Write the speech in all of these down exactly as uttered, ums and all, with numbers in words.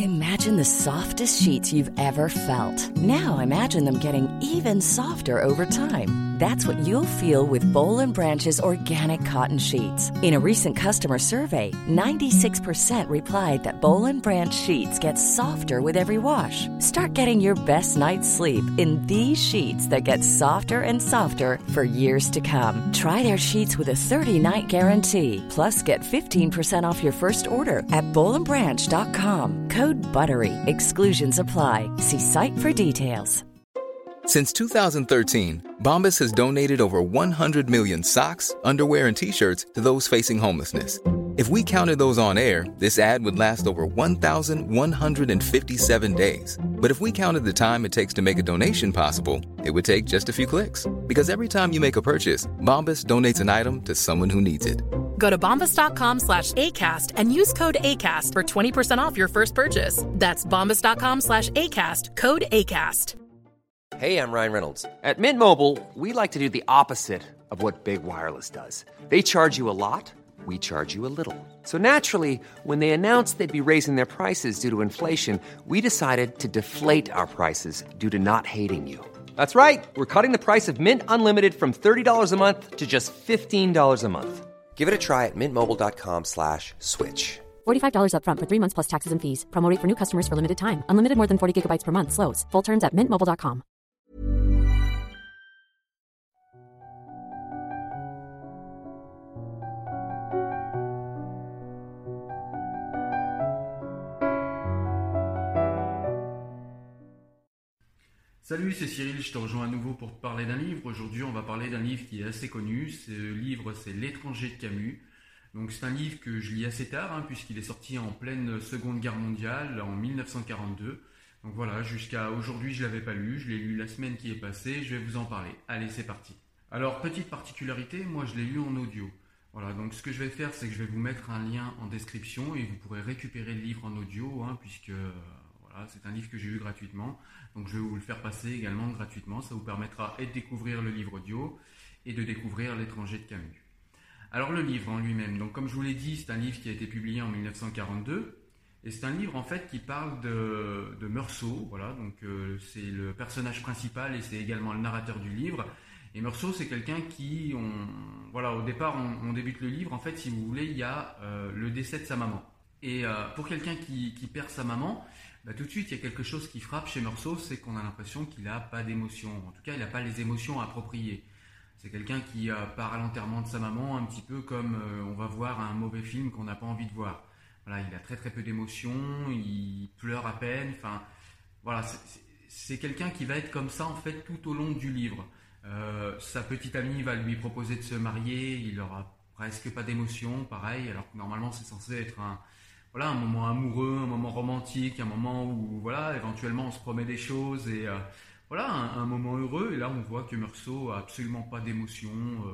Imagine the softest sheets you've ever felt. Now imagine them getting even softer over time. That's what you'll feel with Boll and Branch's organic cotton sheets. In a recent customer survey, ninety-six percent replied that Boll and Branch sheets get softer with every wash. Start getting your best night's sleep in these sheets that get softer and softer for years to come. Try their sheets with a thirty-night guarantee. Plus, get fifteen percent off your first order at boll and branch dot com. Code BUTTERY. Exclusions apply. See site for details. Since two thousand thirteen, Bombas has donated over one hundred million socks, underwear, and T-shirts to those facing homelessness. If we counted those on air, this ad would last over one thousand one hundred fifty-seven days. But if we counted the time it takes to make a donation possible, it would take just a few clicks. Because every time you make a purchase, Bombas donates an item to someone who needs it. Go to bombas.com slash ACAST and use code ACAST for twenty percent off your first purchase. That's bombas.com slash ACAST, code ACAST. Hey, I'm Ryan Reynolds. At Mint Mobile, we like to do the opposite of what Big Wireless does. They charge you a lot, we charge you a little. So naturally, when they announced they'd be raising their prices due to inflation, we decided to deflate our prices due to not hating you. That's right. We're cutting the price of Mint Unlimited from thirty dollars a month to just fifteen dollars a month. Give it a try at mintmobile.com slash switch. forty-five dollars up front for three months plus taxes and fees. Promo rate for new customers for limited time. Unlimited more than forty gigabytes per month. Slows full terms at mint mobile dot com. Salut, c'est Cyril, je te rejoins à nouveau pour te parler d'un livre. Aujourd'hui, on va parler d'un livre qui est assez connu. Ce livre, c'est L'étranger de Camus. Donc, c'est un livre que je lis assez tard, hein, puisqu'il est sorti en pleine Seconde Guerre mondiale, en dix-neuf cent quarante-deux. Donc voilà, jusqu'à aujourd'hui, je ne l'avais pas lu. Je l'ai lu la semaine qui est passée. Je vais vous en parler. Allez, c'est parti. Alors, petite particularité, moi, je l'ai lu en audio. Voilà, donc ce que je vais faire, c'est que je vais vous mettre un lien en description et vous pourrez récupérer le livre en audio, hein, puisque... Voilà, c'est un livre que j'ai eu gratuitement, donc je vais vous le faire passer également gratuitement. Ça vous permettra et de découvrir le livre audio et de découvrir L'étranger de Camus. Alors le livre en lui-même, donc comme je vous l'ai dit, c'est un livre qui a été publié en dix-neuf cent quarante-deux et c'est un livre en fait qui parle de, de Meursault. Voilà, donc euh, c'est le personnage principal et c'est également le narrateur du livre. Et Meursault, c'est quelqu'un qui, on, voilà, au départ, on, on débute le livre. En fait, si vous voulez, il y a euh, le décès de sa maman. Et euh, pour quelqu'un qui, qui perd sa maman, bah, tout de suite, il y a quelque chose qui frappe chez Meursault, c'est qu'on a l'impression qu'il n'a pas d'émotion. En tout cas, il n'a pas les émotions appropriées. C'est quelqu'un qui euh, part à l'enterrement de sa maman, un petit peu comme euh, on va voir un mauvais film qu'on n'a pas envie de voir. Voilà, il a très très peu d'émotions, il pleure à peine. Enfin, voilà, c'est, c'est, c'est quelqu'un qui va être comme ça en fait tout au long du livre. Euh, sa petite amie va lui proposer de se marier, il n'aura presque pas d'émotion, pareil, alors que normalement c'est censé être un Voilà, un moment amoureux, un moment romantique, un moment où voilà, éventuellement on se promet des choses et euh, voilà, un, un moment heureux. Et là, on voit que Meursault a absolument pas d'émotion. Euh,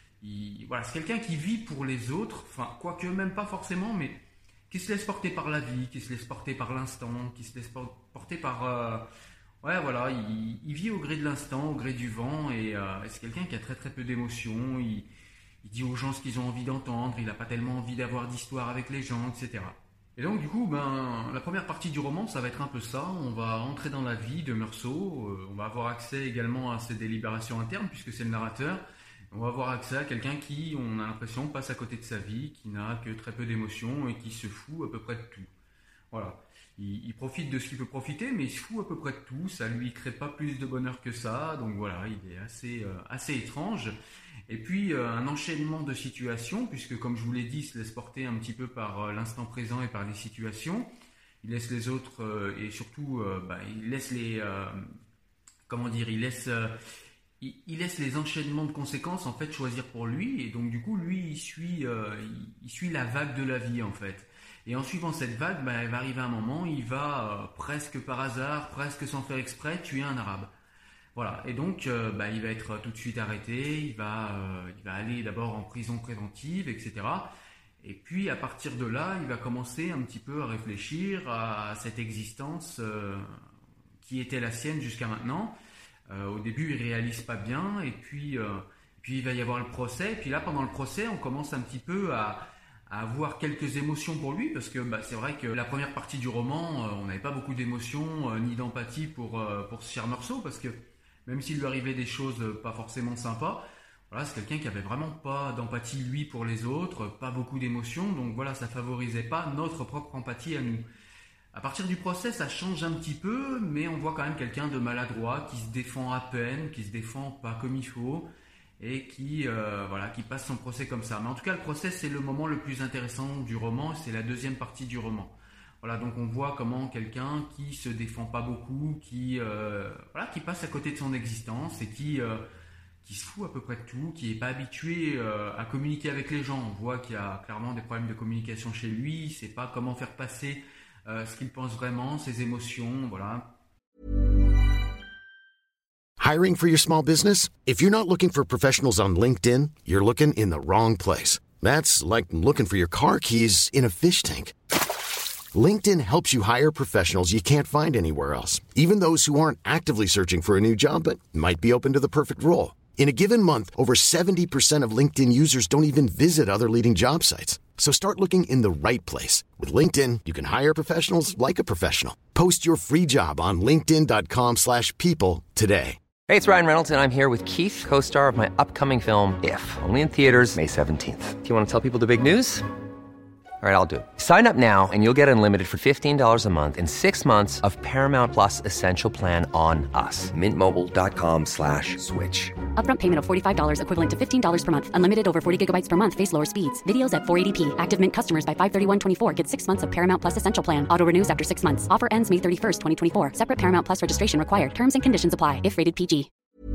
il, voilà, c'est quelqu'un qui vit pour les autres, enfin, quoique même pas forcément, mais qui se laisse porter par la vie, qui se laisse porter par l'instant, qui se laisse porter par... Euh, ouais, voilà, il, il vit au gré de l'instant, au gré du vent et euh, c'est quelqu'un qui a très très peu d'émotion. Il, il dit aux gens ce qu'ils ont envie d'entendre, il n'a pas tellement envie d'avoir d'histoire avec les gens, et cetera. Et donc du coup, ben, la première partie du roman, ça va être un peu ça. On va entrer dans la vie de Meursault, euh, on va avoir accès également à ses délibérations internes, puisque c'est le narrateur. On va avoir accès à quelqu'un qui, on a l'impression, passe à côté de sa vie, qui n'a que très peu d'émotions et qui se fout à peu près de tout. Voilà. Il, il profite de ce qu'il peut profiter, mais il se fout à peu près de tout. Ça lui crée pas plus de bonheur que ça. Donc voilà, il est assez, euh, assez étrange. Et puis euh, un enchaînement de situations, puisque comme je vous l'ai dit, il se laisse porter un petit peu par euh, l'instant présent et par les situations. Il laisse les autres euh, et surtout, euh, bah, il laisse les, euh, comment dire, il laisse, euh, il, il laisse les enchaînements de conséquences en fait choisir pour lui. Et donc du coup, lui, il suit, euh, il, il suit la vague de la vie en fait. Et en suivant cette vague, bah, il va arriver un moment, il va euh, presque par hasard, presque sans faire exprès, tuer un arabe. Voilà, et donc euh, bah, il va être tout de suite arrêté, il va, euh, il va aller d'abord en prison préventive, et cetera. Et puis à partir de là, il va commencer un petit peu à réfléchir à cette existence euh, qui était la sienne jusqu'à maintenant. Euh, au début, il réalise pas bien, et puis, euh, puis il va y avoir le procès. Et puis là, pendant le procès, on commence un petit peu à, à avoir quelques émotions pour lui, parce que bah, c'est vrai que la première partie du roman, euh, on n'avait pas beaucoup d'émotions euh, ni d'empathie pour, euh, pour ce cher Meursault, parce que même s'il lui arrivait des choses euh, pas forcément sympas, voilà, c'est quelqu'un qui avait vraiment pas d'empathie lui pour les autres, pas beaucoup d'émotions, donc voilà, ça favorisait pas notre propre empathie à nous. À partir du procès, ça change un petit peu, mais on voit quand même quelqu'un de maladroit, qui se défend à peine, qui se défend pas comme il faut, et qui, euh, voilà, qui passe son procès comme ça. Mais en tout cas, le procès, c'est le moment le plus intéressant du roman, c'est la deuxième partie du roman. Voilà, donc on voit comment quelqu'un qui se défend pas beaucoup, qui, euh, voilà, qui passe à côté de son existence et qui, euh, qui se fout à peu près de tout, qui est pas habitué euh, à communiquer avec les gens. On voit qu'il y a clairement des problèmes de communication chez lui, il sait pas comment faire passer euh, ce qu'il pense vraiment, ses émotions, voilà. Hiring for your small business? If you're not looking for professionals on LinkedIn, you're looking in the wrong place. That's like looking for your car keys in a fish tank. LinkedIn helps you hire professionals you can't find anywhere else, even those who aren't actively searching for a new job but might be open to the perfect role. In a given month, over seventy percent of LinkedIn users don't even visit other leading job sites. So start looking in the right place. With LinkedIn, you can hire professionals like a professional. Post your free job on linkedin.com slash people today. Hey, it's Ryan Reynolds, and I'm here with Keith, co-star of my upcoming film, If, only in theaters May seventeenth. Do you want to tell people the big news? All right, I'll do it. Sign up now and you'll get unlimited for fifteen dollars a month and six months of Paramount Plus Essential Plan on us. Mint Mobile dot com slash switch. Upfront payment of forty-five dollars equivalent to fifteen dollars per month. Unlimited over forty gigabytes per month. Face lower speeds. Videos at four eighty p. Active Mint customers by five thirty-one twenty-four get six months of Paramount Plus Essential Plan. Auto renews after six months. Offer ends May thirty-first, twenty twenty-four. Separate Paramount Plus registration required. Terms and conditions apply if rated P G.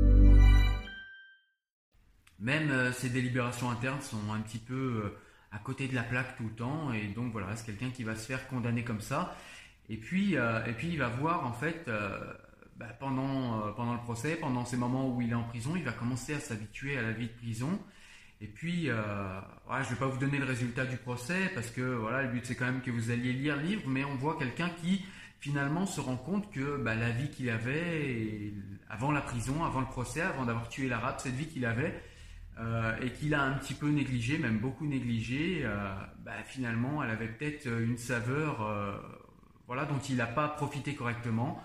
Même euh, ses délibérations internes sont un petit peu euh, à côté de la plaque tout le temps, et donc voilà, c'est quelqu'un qui va se faire condamner comme ça. Et puis, euh, et puis il va voir en fait, euh, bah, pendant, euh, pendant le procès, pendant ces moments où il est en prison, il va commencer à s'habituer à la vie de prison. Et puis, euh, voilà, je ne vais pas vous donner le résultat du procès, parce que voilà, le but c'est quand même que vous alliez lire le livre, mais on voit quelqu'un qui finalement se rend compte que bah, la vie qu'il avait avant la prison, avant le procès, avant d'avoir tué l'arabe, cette vie qu'il avait, Euh, et qu'il a un petit peu négligé, même beaucoup négligé, euh, bah, finalement elle avait peut-être une saveur euh, voilà, dont il n'a pas profité correctement,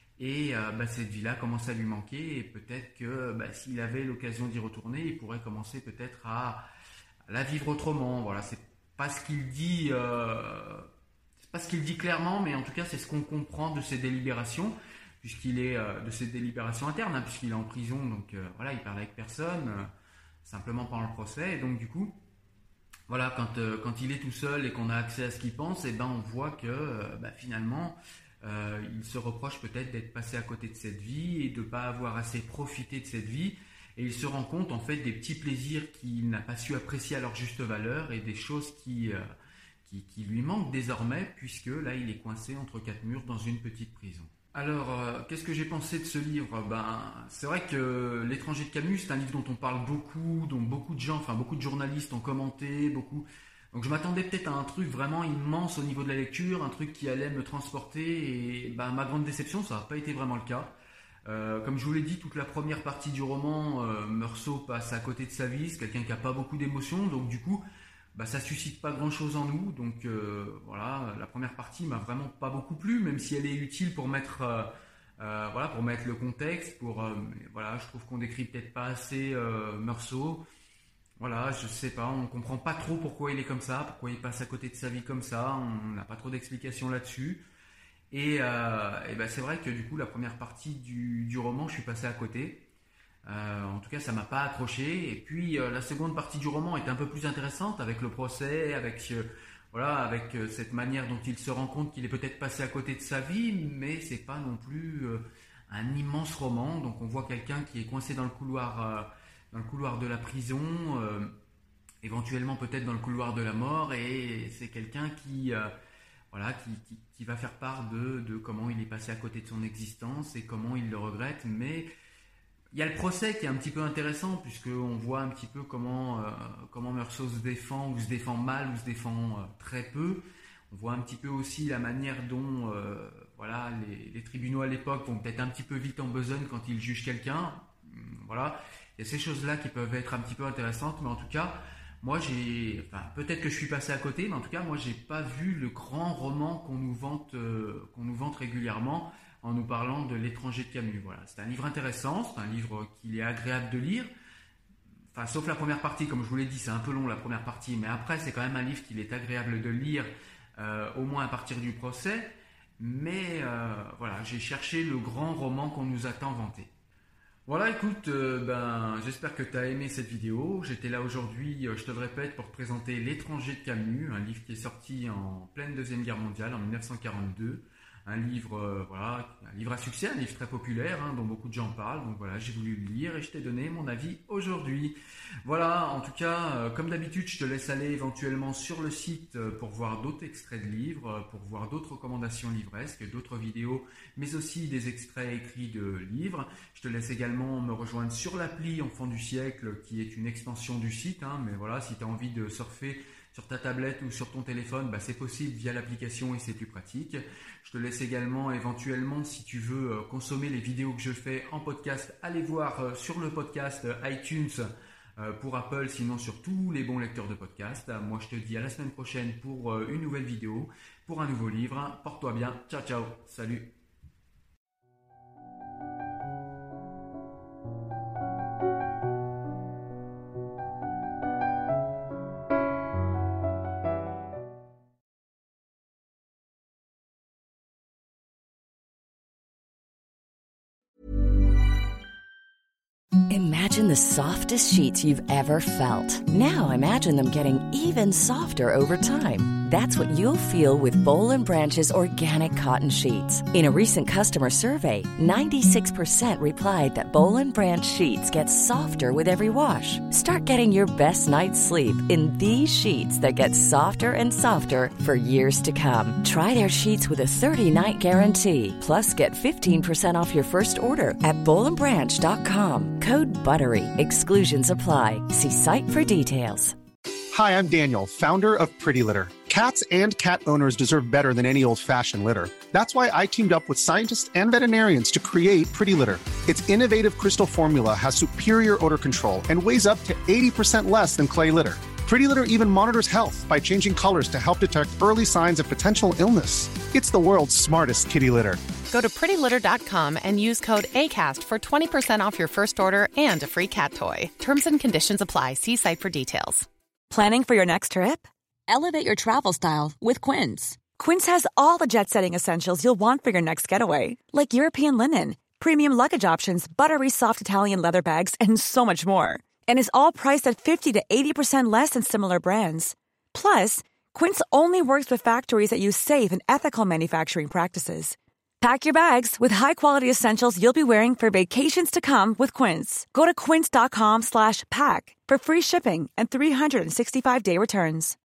et euh, bah, cette vie-là commence à lui manquer, et peut-être que bah, s'il avait l'occasion d'y retourner, il pourrait commencer peut-être à, à la vivre autrement. Voilà, c'est pas ce qu'il dit, euh, c'est pas ce qu'il dit clairement, mais en tout cas c'est ce qu'on comprend de ses délibérations, puisqu'il est euh, de ses délibérations internes, hein, puisqu'il est en prison, donc euh, voilà, il parle avec personne. Euh, simplement pendant le procès, et donc du coup, voilà, quand, euh, quand il est tout seul et qu'on a accès à ce qu'il pense, et ben on voit que euh, bah, finalement, euh, il se reproche peut-être d'être passé à côté de cette vie et de ne pas avoir assez profité de cette vie, et il se rend compte en fait des petits plaisirs qu'il n'a pas su apprécier à leur juste valeur, et des choses qui, euh, qui, qui lui manquent désormais, puisque là il est coincé entre quatre murs dans une petite prison. Alors, euh, qu'est-ce que j'ai pensé de ce livre ? Ben, c'est vrai que L'étranger de Camus, c'est un livre dont on parle beaucoup, dont beaucoup de gens, enfin beaucoup de journalistes ont commenté, beaucoup. Donc je m'attendais peut-être à un truc vraiment immense au niveau de la lecture, un truc qui allait me transporter, et ben, ma grande déception, ça n'a pas été vraiment le cas. Euh, comme je vous l'ai dit, toute la première partie du roman, euh, Meursault passe à côté de sa vie, c'est quelqu'un qui n'a pas beaucoup d'émotions, donc du coup, bah, ça suscite pas grand chose en nous, donc euh, voilà, la première partie m'a vraiment pas beaucoup plu, même si elle est utile pour mettre, euh, euh, voilà, pour mettre le contexte, pour, euh, voilà, je trouve qu'on décrit peut-être pas assez euh, Meursault, voilà, je sais pas, on comprend pas trop pourquoi il est comme ça, pourquoi il passe à côté de sa vie comme ça, on n'a pas trop d'explications là-dessus, et, euh, et ben c'est vrai que du coup la première partie du, du roman, je suis passé à côté. Euh, en tout cas, ça m'a pas accroché. Et puis, euh, la seconde partie du roman est un peu plus intéressante, avec le procès, avec euh, voilà, avec euh, cette manière dont il se rend compte qu'il est peut-être passé à côté de sa vie, mais c'est pas non plus euh, un immense roman. Donc, on voit quelqu'un qui est coincé dans le couloir, euh, dans le couloir de la prison, euh, éventuellement peut-être dans le couloir de la mort, et c'est quelqu'un qui euh, voilà, qui, qui, qui va faire part de, de comment il est passé à côté de son existence et comment il le regrette, mais il y a le procès qui est un petit peu intéressant, puisqu'on voit un petit peu comment, euh, comment Meursault se défend, ou se défend mal, ou se défend euh, très peu. On voit un petit peu aussi la manière dont euh, voilà, les, les tribunaux à l'époque vont peut-être un petit peu vite en besogne quand ils jugent quelqu'un. Voilà. Il y a ces choses-là qui peuvent être un petit peu intéressantes, mais en tout cas, moi j'ai, enfin peut-être que je suis passé à côté, mais en tout cas moi j'ai pas vu le grand roman qu'on nous vante, euh, qu'on nous vante régulièrement en nous parlant de L'étranger de Camus. Voilà, c'est un livre intéressant, c'est un livre qu'il est agréable de lire. Enfin, sauf la première partie, comme je vous l'ai dit, c'est un peu long la première partie, mais après c'est quand même un livre qu'il est agréable de lire, euh, au moins à partir du procès. Mais euh, voilà, j'ai cherché le grand roman qu'on nous a tant vanté. Voilà, écoute, euh, ben, j'espère que tu as aimé cette vidéo. J'étais là aujourd'hui, euh, je te le répète, pour te présenter L'étranger de Camus, un livre qui est sorti en pleine Deuxième Guerre mondiale, en dix-neuf cent quarante-deux. Un livre, euh, voilà, un livre à succès, un livre très populaire, hein, dont beaucoup de gens parlent. Donc voilà, j'ai voulu le lire et je t'ai donné mon avis aujourd'hui. Voilà, en tout cas, euh, comme d'habitude, je te laisse aller éventuellement sur le site euh, pour voir d'autres extraits de livres, euh, pour voir d'autres recommandations livresques, d'autres vidéos, mais aussi des extraits écrits de livres. Je te laisse également me rejoindre sur l'appli Enfant du siècle, qui est une extension du site. Hein, mais voilà, si tu as envie de surfer sur ta tablette ou sur ton téléphone, bah, c'est possible via l'application et c'est plus pratique. Je te laisse également éventuellement, si tu veux euh, consommer les vidéos que je fais en podcast, aller voir euh, sur le podcast euh, iTunes euh, pour Apple, sinon sur tous les bons lecteurs de podcast. Euh, moi, je te dis à la semaine prochaine pour euh, une nouvelle vidéo, pour un nouveau livre. Porte-toi bien. Ciao, ciao. Salut. Imagine the softest sheets you've ever felt. Now imagine them getting even softer over time. That's what you'll feel with Boll and Branch's organic cotton sheets. In a recent customer survey, ninety-six percent replied that Boll and Branch sheets get softer with every wash. Start getting your best night's sleep in these sheets that get softer and softer for years to come. Try their sheets with a thirty-night guarantee. Plus, get fifteen percent off your first order at boll and branch dot com. Code BUTTERY. Exclusions apply. See site for details. Hi, I'm Daniel, founder of Pretty Litter. Cats and cat owners deserve better than any old-fashioned litter. That's why I teamed up with scientists and veterinarians to create Pretty Litter. Its innovative crystal formula has superior odor control and weighs up to eighty percent less than clay litter. Pretty Litter even monitors health by changing colors to help detect early signs of potential illness. It's the world's smartest kitty litter. Go to pretty litter dot com and use code ACAST for twenty percent off your first order and a free cat toy. Terms and conditions apply. See site for details. Planning for your next trip? Elevate your travel style with Quince. Quince has all the jet-setting essentials you'll want for your next getaway, like European linen, premium luggage options, buttery soft Italian leather bags, and so much more. And is all priced at fifty to eighty percent less than similar brands. Plus, Quince only works with factories that use safe and ethical manufacturing practices. Pack your bags with high-quality essentials you'll be wearing for vacations to come with Quince. Go to quince dot com slash pack for free shipping and three sixty-five day returns.